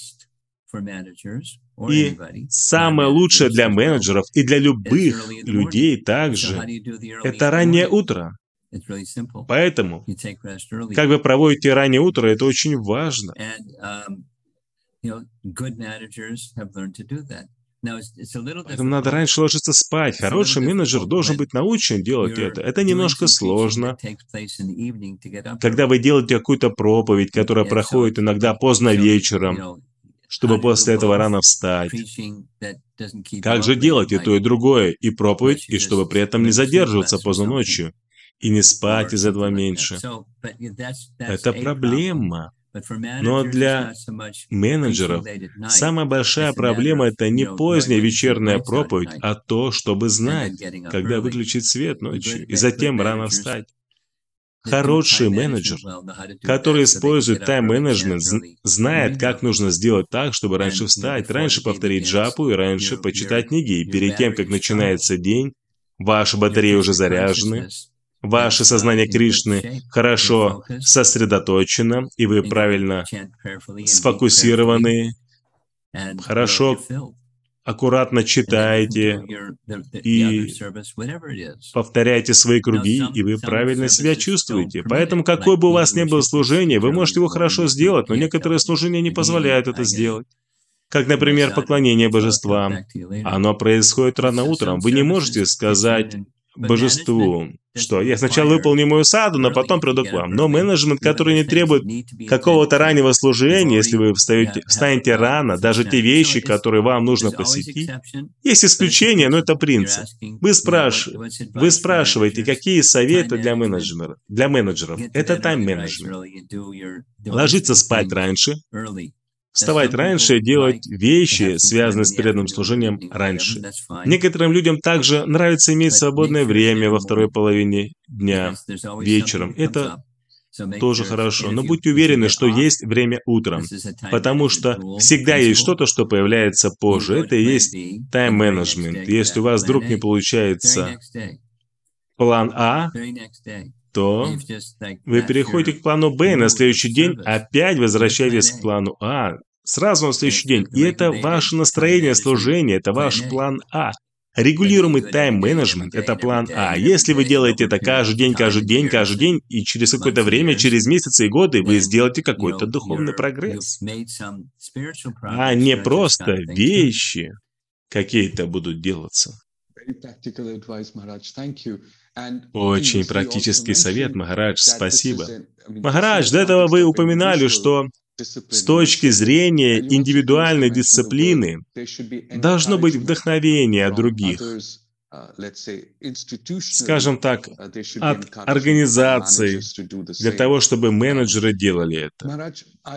И самое лучшее для менеджеров и для любых людей также — это раннее утро. Поэтому, как вы проводите раннее утро, это очень важно. Поэтому надо раньше ложиться спать. Хороший менеджер должен быть научен делать это. Это немножко сложно. Когда вы делаете какую-то проповедь, которая проходит иногда поздно вечером, чтобы после этого рано встать. Как же делать и то, и другое, и проповедь, и чтобы при этом не задерживаться поздно ночью, и не спать из этого меньше? Это проблема. Но для менеджеров самая большая проблема — это не поздняя вечерняя проповедь, а то, чтобы знать, когда выключить свет ночью, и затем рано встать. Хороший менеджер, который использует тайм-менеджмент, знает, как нужно сделать так, чтобы раньше встать, раньше повторить джапу и раньше почитать книги. И перед тем, как начинается день, ваши батареи уже заряжены, ваше сознание Кришны хорошо сосредоточено, и вы правильно сфокусированы, хорошо, аккуратно читаете и повторяете свои круги, и вы правильно себя чувствуете. Поэтому, какое бы у вас ни было служение, вы можете его хорошо сделать, но некоторые служения не позволяют это сделать. Как, например, поклонение божествам. Оно происходит рано утром. Вы не можете сказать божеству, что я сначала выполню мою саду, но потом приду к вам. Но менеджмент, который не требует какого-то раннего служения, если вы встаете, встанете рано, даже те вещи, которые вам нужно посетить, есть исключения, но это принцип. Вы, спраш... вы спрашиваете, какие советы для менеджеров? Для менеджеров. Это тайм-менеджмент. Ложиться спать раньше, вставать раньше и делать вещи, связанные с преданным служением, раньше. Некоторым людям также нравится иметь свободное время во второй половине дня, вечером. Это тоже хорошо. Но будьте уверены, что есть время утром, потому что всегда есть что-то, что появляется позже. Это и есть тайм-менеджмент. Если у вас вдруг не получается план А, то вы переходите к плану Б, и на следующий день опять возвращаетесь к плану А. Сразу на следующий день. И это ваше настроение служения, это ваш план А. Регулируемый тайм-менеджмент — это план А. Если вы делаете это каждый день, каждый день, каждый день, и через какое-то время, через месяцы и годы, вы сделаете какой-то духовный прогресс. А не просто вещи какие-то будут делаться. Очень практический совет, Махарадж, спасибо. Махарадж, до этого вы упоминали, что с точки зрения индивидуальной дисциплины должно быть вдохновение от других. скажем так, от организаций для того, чтобы менеджеры делали это.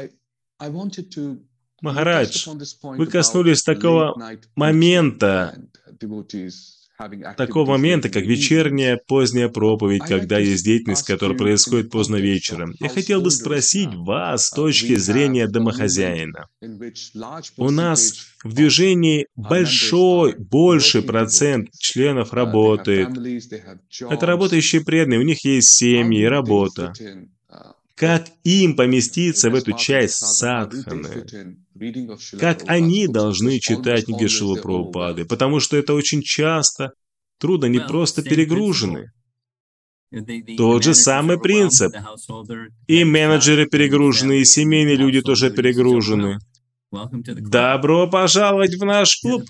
Махарадж, вы коснулись такого момента, такого момента, как вечерняя поздняя проповедь, когда есть деятельность, которая происходит поздно вечером. Я хотел бы спросить вас с точки зрения домохозяина. У нас в движении большой, больший процент членов работает. Это работающие преданные, у них есть семьи и работа. Как им поместиться в эту часть садханы? Как они должны читать книги Шрилы Прабхупады? Потому что это очень часто трудно, не просто перегружены. Тот же самый принцип. И менеджеры перегружены, и семейные люди тоже перегружены. Добро пожаловать в наш клуб.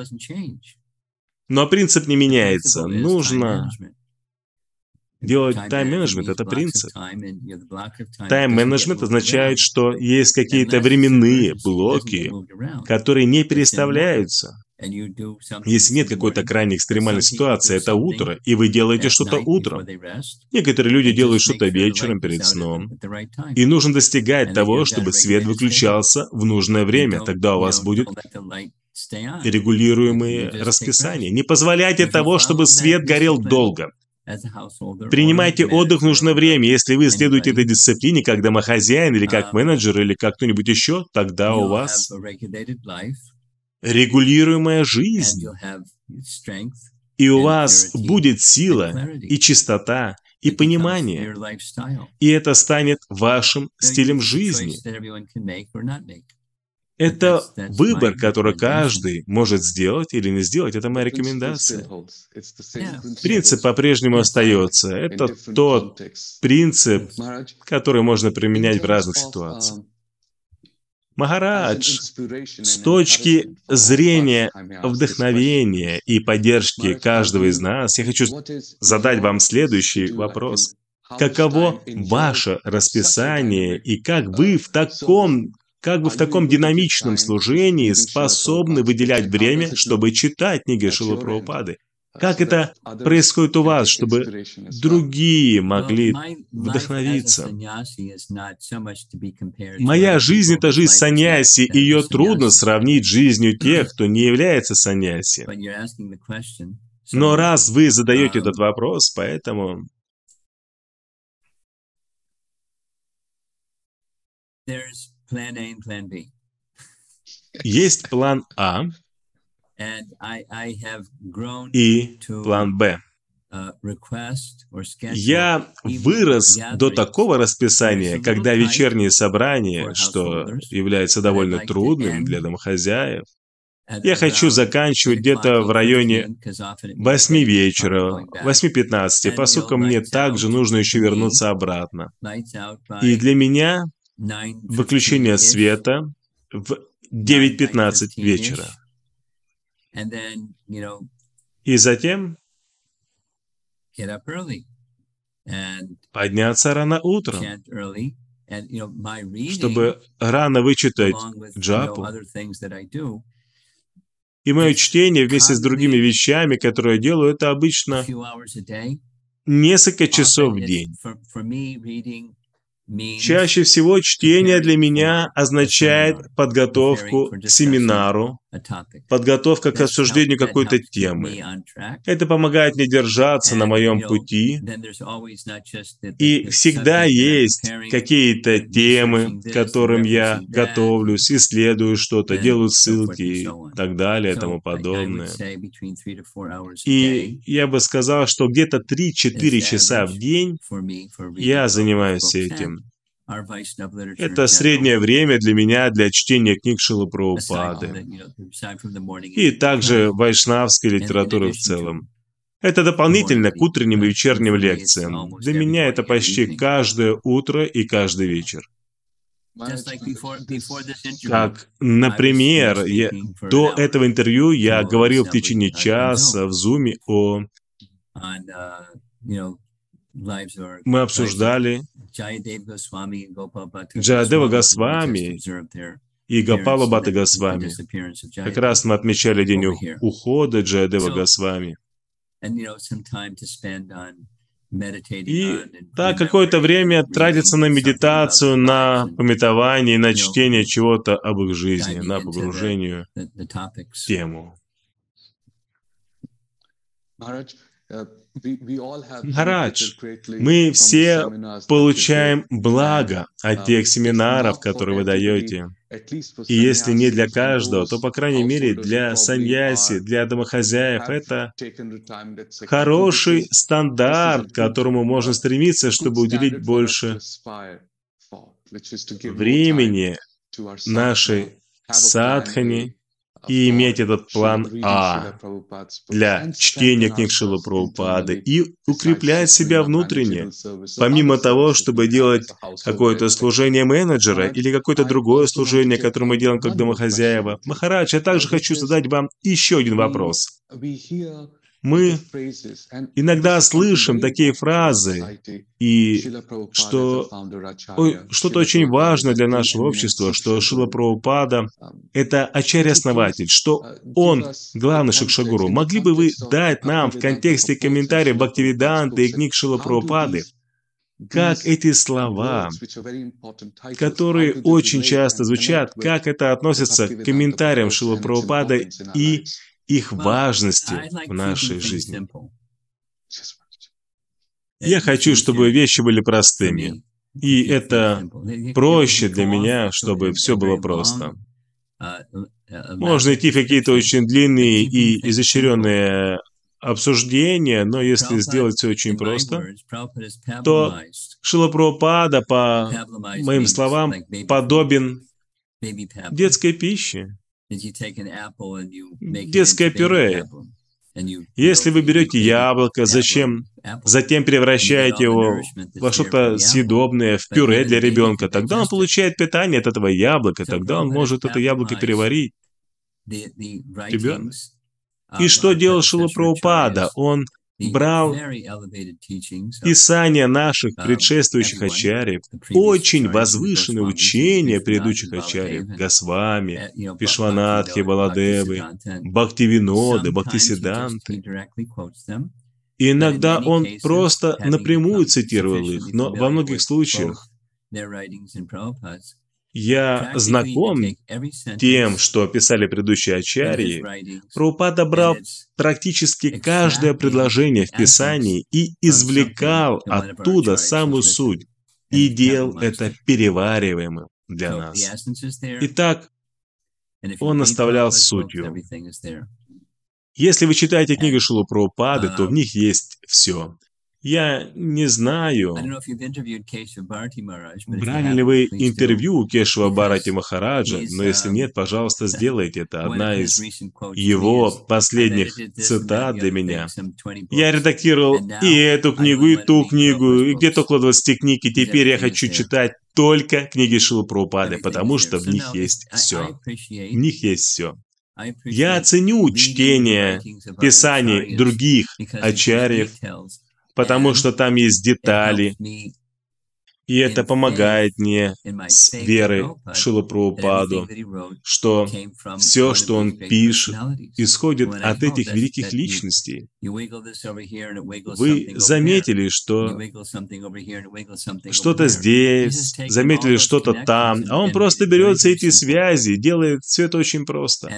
Но принцип не меняется. Нужно делать тайм-менеджмент – это принцип. Тайм-менеджмент означает, что есть какие-то временные блоки, которые не переставляются. Если нет какой-то крайне экстремальной ситуации, это утро, и вы делаете что-то утром. Некоторые люди делают что-то вечером перед сном. И нужно достигать того, чтобы свет выключался в нужное время. Тогда у вас будет регулируемые расписания. Не позволяйте того, чтобы свет горел долго. Принимайте отдых в нужное время. Если вы следуете этой дисциплине как домохозяин, или как менеджер, или как кто-нибудь еще, тогда у вас регулируемая жизнь. И у вас будет сила, и чистота, и понимание. И это станет вашим стилем жизни. Это выбор, который каждый может сделать или не сделать. Это моя рекомендация. Принцип по-прежнему остается. Это тот принцип, который можно применять в разных ситуациях. Махарадж, с точки зрения вдохновения и поддержки каждого из нас, я хочу задать вам следующий вопрос. Каково ваше расписание и как вы в таком... Как вы в таком динамичном служении способны выделять время, чтобы читать книги Шрилы Прабхупады? Как это происходит у вас, чтобы другие могли вдохновиться? Моя жизнь – это жизнь саньяси, и ее трудно сравнить с жизнью тех, кто не является саньяси. Но раз вы задаете этот вопрос, поэтому... Есть план А и план Б. Я вырос до такого расписания, когда вечерние собрания, что является довольно трудным для домохозяев, я хочу заканчивать где-то в районе восьми вечера, восьми пятнадцати, поскольку мне также нужно еще вернуться обратно. И для меня выключение света в девять пятнадцать вечера. И затем подняться рано утром, чтобы рано вычитать джапу. И мое чтение вместе с другими вещами, которые я делаю, это обычно несколько часов в день. Чаще всего чтение для меня означает подготовку к семинару, подготовка к обсуждению какой-то темы. Это помогает мне держаться на моем пути. И всегда есть какие-то темы, к которым я готовлюсь, исследую что-то, делаю ссылки и так далее, и тому подобное. И я бы сказал, что где-то три-четыре часа в день я занимаюсь этим. Это среднее время для меня для чтения книг Шрилы Прабхупады. И также вайшнавской литературы в целом. Это дополнительно к утренним и вечерним лекциям. Для меня это почти каждое утро и каждый вечер. Как, например, я, до этого интервью я говорил в течение часа в Зуме о... Мы обсуждали Джаядева Госвами и Гопала Бхатта Госвами. Как раз мы отмечали день ухода Джаядева Госвами. И так какое-то время тратится на медитацию, на памятование, на чтение чего-то об их жизни, на погружение в тему. Махарадж, мы все получаем благо от тех семинаров, которые вы даете. И если не для каждого, то, по крайней мере, для саньяси, для домохозяев, это хороший стандарт, к которому можно стремиться, чтобы уделить больше времени нашей садхане и иметь этот план А для чтения книг Шрилы Прабхупады и укреплять себя внутренне, помимо того, чтобы делать какое-то служение менеджера или какое-то другое служение, которое мы делаем как домохозяева. Махарадж, я также хочу задать вам еще один вопрос. Мы иногда слышим такие фразы, и что что-то очень важное для нашего общества, что Шрила Прабхупада — это ачарья-основатель, что он главный Шикшагуру. Могли бы вы дать нам в контексте комментариев Бхактивиданты и книг Шрилы Прабхупады, как эти слова, которые очень часто звучат, как это относится к комментариям Шрилы Прабхупады и их важности в нашей жизни? Я хочу, чтобы вещи были простыми. И это проще для меня, чтобы все было просто. Можно идти в какие-то очень длинные и изощренные обсуждения, но если сделать все очень просто, то Шрила Прабхупада, по моим словам, подобен детской пище. Детское пюре. Если вы берете яблоко, зачем? Затем превращаете его во что-то съедобное, в пюре для ребенка, тогда он получает питание от этого яблока, тогда он может это яблоко переварить. Ребенок. И что делал Шрила Прабхупада? Он брал писания наших предшествующих ачарьев, очень возвышенные учения предыдущих ачарьев, Госвами, Вишванатхи, Баладевы, Бхактивиноды, Бхактисиданты. И иногда он просто напрямую цитировал их, но во многих случаях я знаком тем, что писали предыдущие ачарьи. Прабхупада брал практически каждое предложение в Писании и извлекал оттуда самую суть, и делал это перевариваемым для нас. Итак, он оставлял сутью. Если вы читаете книги Шрилы Прабхупады, то в них есть все. Я не знаю, брали ли вы интервью у Кешава Бхарати Махараджа, но если нет, пожалуйста, сделайте это. Одна из его последних цитат для меня. Я редактировал и эту книгу, и ту книгу, и где-то около двадцати книг, и теперь я хочу читать только книги Шрилы Прабхупады, потому что в них есть все. В них есть все. Я ценю чтение писаний других ачарьев, потому что там есть детали, и это помогает мне с верой в Шрилу Прабхупаду, что все, что он пишет, исходит от этих великих личностей. Вы заметили, что что-то здесь, заметили что-то там, а он просто берет все эти связи, делает все это очень просто.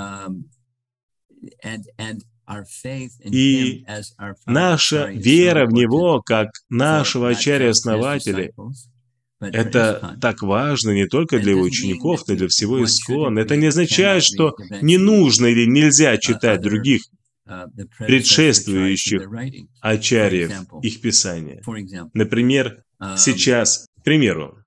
И наша вера в Него, как нашего ачарья-основателя, это так важно не только для его учеников, но и для всего ИСККОН. Это не означает, что не нужно или нельзя читать других предшествующих ачарьев, их писания. Например, сейчас, к примеру,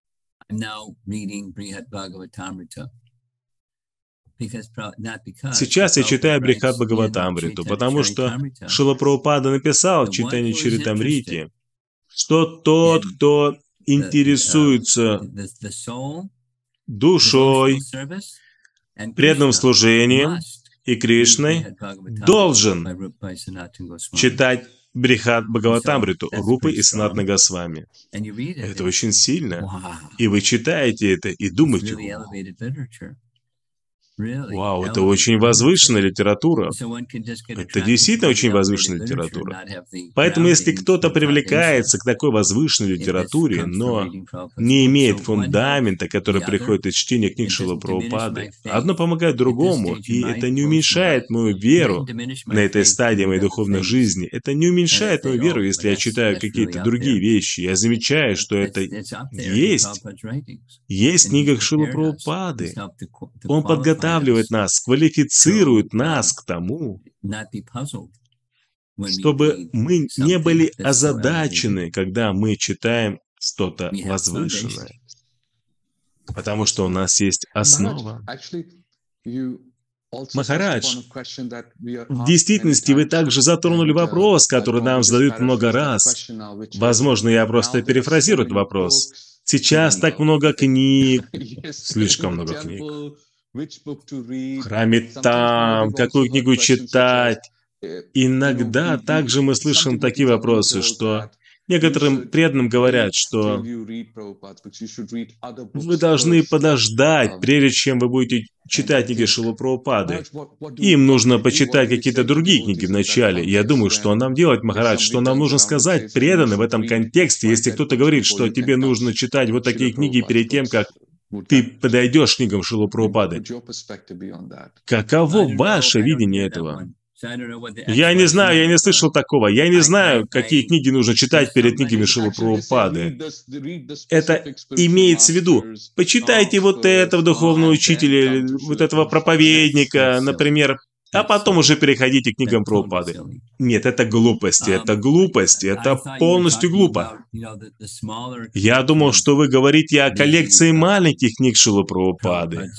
сейчас я читаю Брихат Бхагаватамриту, потому что Шрила Прабхупада написал в Чайтанья Чаритамрите, что тот, кто интересуется душой, преданным служением и Кришной, должен читать Брихат Бхагаватамриту Рупы и Санатана Госвами. Это очень сильно. И вы читаете это и думаете: Вау, это очень возвышенная литература. Это действительно очень возвышенная литература. Поэтому если кто-то привлекается к такой возвышенной литературе, но не имеет фундамента, который приходит из чтения книг Шрилы Прабхупады, одно помогает другому, и это не уменьшает мою веру на этой стадии моей духовной жизни. Это не уменьшает мою веру, если я читаю какие-то другие вещи. Я замечаю, что это есть. Есть в книгах Шрилы Прабхупады. Он подготавливает нас, квалифицирует нас к тому, чтобы мы не были озадачены, когда мы читаем что-то возвышенное. Потому что у нас есть основа. Махарадж, в действительности вы также затронули вопрос, который нам задают много раз. Возможно, я просто перефразирую этот вопрос. Сейчас так много книг, слишком много книг. В храме там, какую книгу читать. Иногда также мы слышим такие вопросы, что некоторым преданным говорят, что вы должны подождать, прежде чем вы будете читать книги Шрилы Прабхупады. Им нужно почитать какие-то другие книги вначале. Я думаю, что нам делать, Махарадж, что нам нужно сказать преданным в этом контексте, если кто-то говорит, что тебе нужно читать вот такие книги перед тем, как ты подойдешь к книгам Шрилы Прабхупады. Каково ваше видение этого? Я не знаю, я не слышал такого. Я не знаю, какие книги нужно читать перед книгами Шрилы Прабхупады. Это имеется в виду. Почитайте вот этого духовного учителя, вот этого проповедника, например, а потом уже переходите к книгам Прабхупады. Нет, это глупости, это глупости, это полностью глупо. Я думал, что вы говорите о коллекции маленьких книг Шрилы Прабхупады,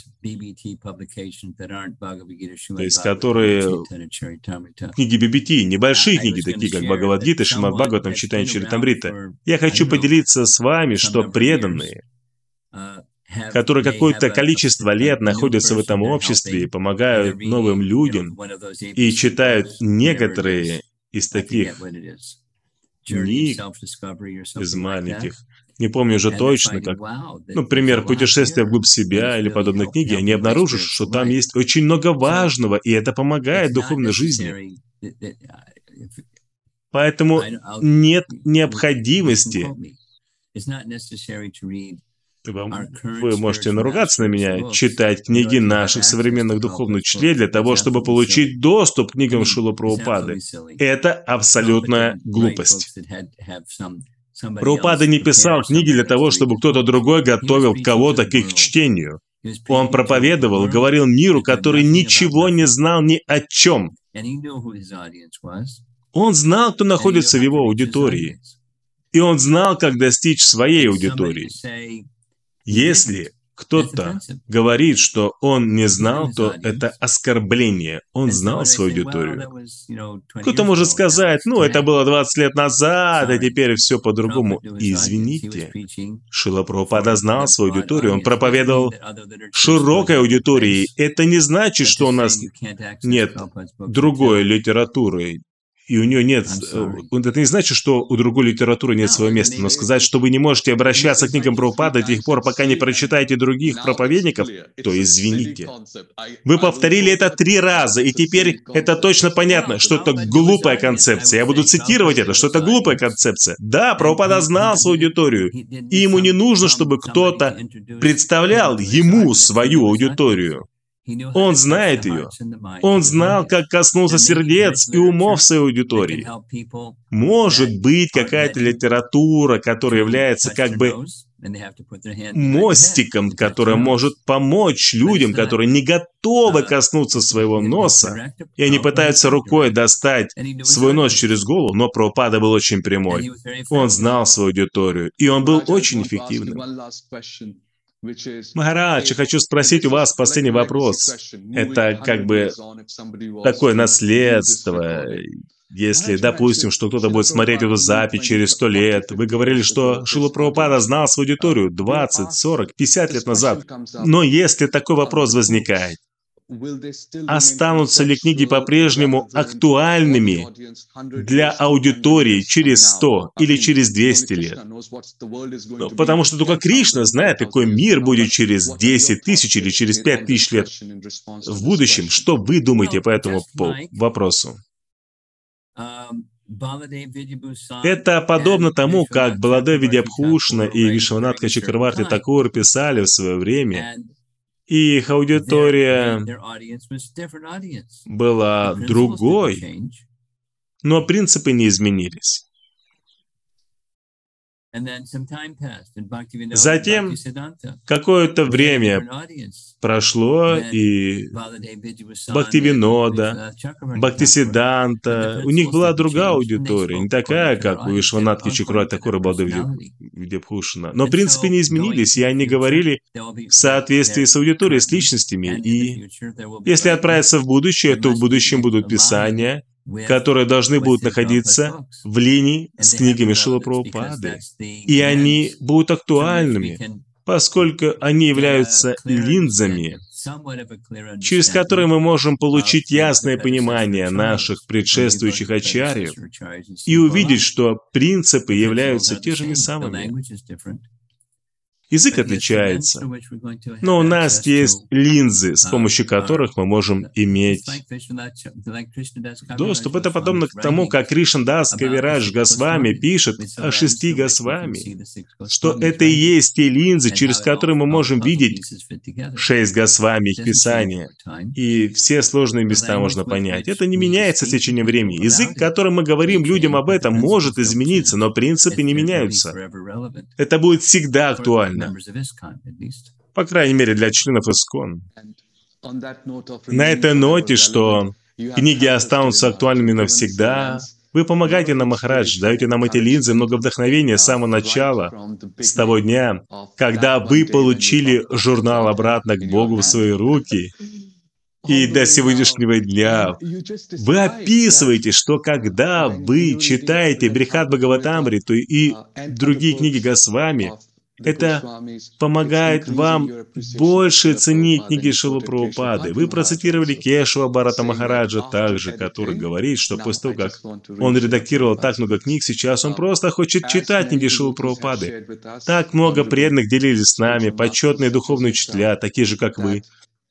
то есть которые книги би би ти, небольшие книги, такие как Бхагавад-гита, Шримад Бхагаватам, Чайтанья Чаритамрита. Я хочу поделиться с вами, что преданные, которые какое-то количество лет находятся в этом обществе и помогают новым людям, и читают некоторые из таких книг, из маленьких, не помню уже точно, как, например, «Путешествие вглубь себя» или подобные книги, они обнаружат, что там есть очень много важного, и это помогает духовной жизни. Поэтому нет необходимости. Вам, вы можете наругаться на меня, читать книги наших современных духовных учителей для того, чтобы получить доступ к книгам Шрилы Прабхупады. Это абсолютная глупость. Прабхупада не писал книги для того, чтобы кто-то другой готовил кого-то к их чтению. Он проповедовал и говорил миру, который ничего не знал ни о чем. Он знал, кто находится в его аудитории. И он знал, как достичь своей аудитории. Если кто-то говорит, что он не знал, то это оскорбление. Он знал свою аудиторию. Кто-то может сказать, ну, это было двадцать лет назад, а теперь все по-другому. Извините, Шрила Прабхупада знал свою аудиторию, он проповедовал широкой аудитории. Это не значит, что у нас нет другой литературы. И у нее нет... Это не значит, что у другой литературы нет своего места. Но сказать, что вы не можете обращаться к книгам Прабхупады до тех пор, пока не прочитаете других проповедников, то извините. Вы повторили это три раза, и теперь это точно понятно, что это глупая концепция. Я буду цитировать это, что это глупая концепция. Да, Прабхупада знал свою аудиторию, и ему не нужно, чтобы кто-то представлял ему свою аудиторию. Он знает ее. Он знал, как коснуться сердец и умов своей аудитории. Может быть, какая-то литература, которая является как бы мостиком, который может помочь людям, которые не готовы коснуться своего носа, и они пытаются рукой достать свой нос через голову, но Прабхупада был очень прямой. Он знал свою аудиторию, и он был очень эффективным. Махарадж, я хочу спросить у вас последний вопрос. Это как бы такое наследство. Если, допустим, что кто-то будет смотреть эту запись через сто лет, вы говорили, что Шрила Прабхупада знал свою аудиторию двадцать, сорок, пятьдесят лет назад. Но если такой вопрос возникает, Останутся ли книги по-прежнему актуальными для аудитории через сто или через двести лет? Ну, потому что только Кришна знает, какой мир будет через десять тысяч или через пять тысяч лет в будущем. Что вы думаете по этому вопросу? Это подобно тому, как Баладев Видьябхушна и Вишванатха Чакраварти Такур писали в свое время, и их аудитория была другой, но принципы не изменились. Затем какое-то время прошло, и Бхактивинода, Бхактисиданта, у них была другая аудитория, не такая, как у Вишванатхи Чакраварти Такура и Баладева Видьябхушна. Но принципы не изменились, и они говорили в соответствии с аудиторией, с личностями. И если отправиться в будущее, то в будущем будут писания, которые должны будут находиться в линии с книгами Шрилы Прабхупады. И они будут актуальными, поскольку они являются линзами, через которые мы можем получить ясное понимание наших предшествующих ачарьев и увидеть, что принципы являются те же самыми. Язык отличается, но у нас есть линзы, с помощью которых мы можем иметь доступ. Это подобно к тому, как Кришнадас Кавирадж Госвами пишет о шести Госвами, что это и есть те линзы, через которые мы можем видеть шесть Госвами их писания, и все сложные места можно понять. Это не меняется с течением времени. Язык, которым мы говорим людям об этом, может измениться, но принципы не меняются. Это будет всегда актуально. По крайней мере, для членов ИСККОН. На этой ноте, что книги останутся актуальными навсегда, вы помогаете нам, Махарадж, даете нам эти линзы, много вдохновения с самого начала, с того дня, когда вы получили журнал «Обратно к Богу» в свои руки, и до сегодняшнего дня. Вы описываете, что когда вы читаете Брихад Бхагаватамриту и другие книги Госвами, это помогает вам больше ценить книги Шрилы Прабхупады. Вы процитировали Кешава Бхарата Махараджа также, который говорит, что после того, как он редактировал так много книг, сейчас он просто хочет читать книги Шрилы Прабхупады. Так много преданных делились с нами, почетные духовные учителя, такие же, как вы.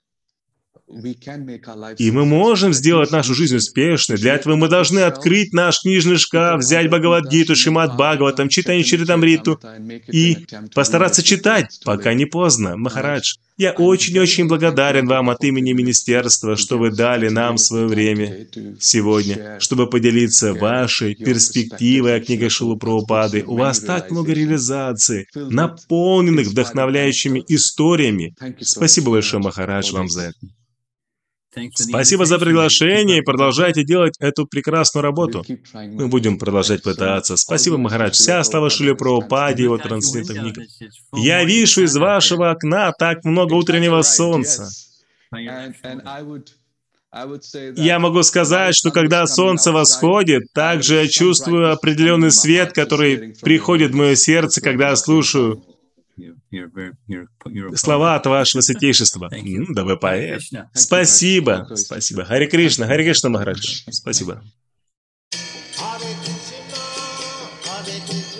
И мы можем сделать нашу жизнь успешной. Для этого мы должны открыть наш книжный шкаф, взять Бхагавад-гиту, Шримад Бхагаватам, читание Чаритамриту и постараться читать, пока не поздно. Махарадж, я очень-очень благодарен вам от имени Министерства, что вы дали нам свое время сегодня, чтобы поделиться вашей перспективой о книгах Шрилы Прабхупады. У вас так много реализаций, наполненных вдохновляющими историями. Спасибо большое, Махарадж, вам за это. Спасибо за приглашение и продолжайте делать эту прекрасную работу. Мы будем продолжать пытаться. Спасибо, Махарадж. Вся слава Шриле Прабхупаде и его трансцендентным книгам. Я вижу из вашего окна так много утреннего солнца. Я могу сказать, что когда солнце восходит, также я чувствую определенный свет, который приходит в мое сердце, когда я слушаю слова от вашего святейшества. М, да вы поэт. Спасибо. Спасибо. Харе Кришна, Харе Кришна, Махарадж. Спасибо.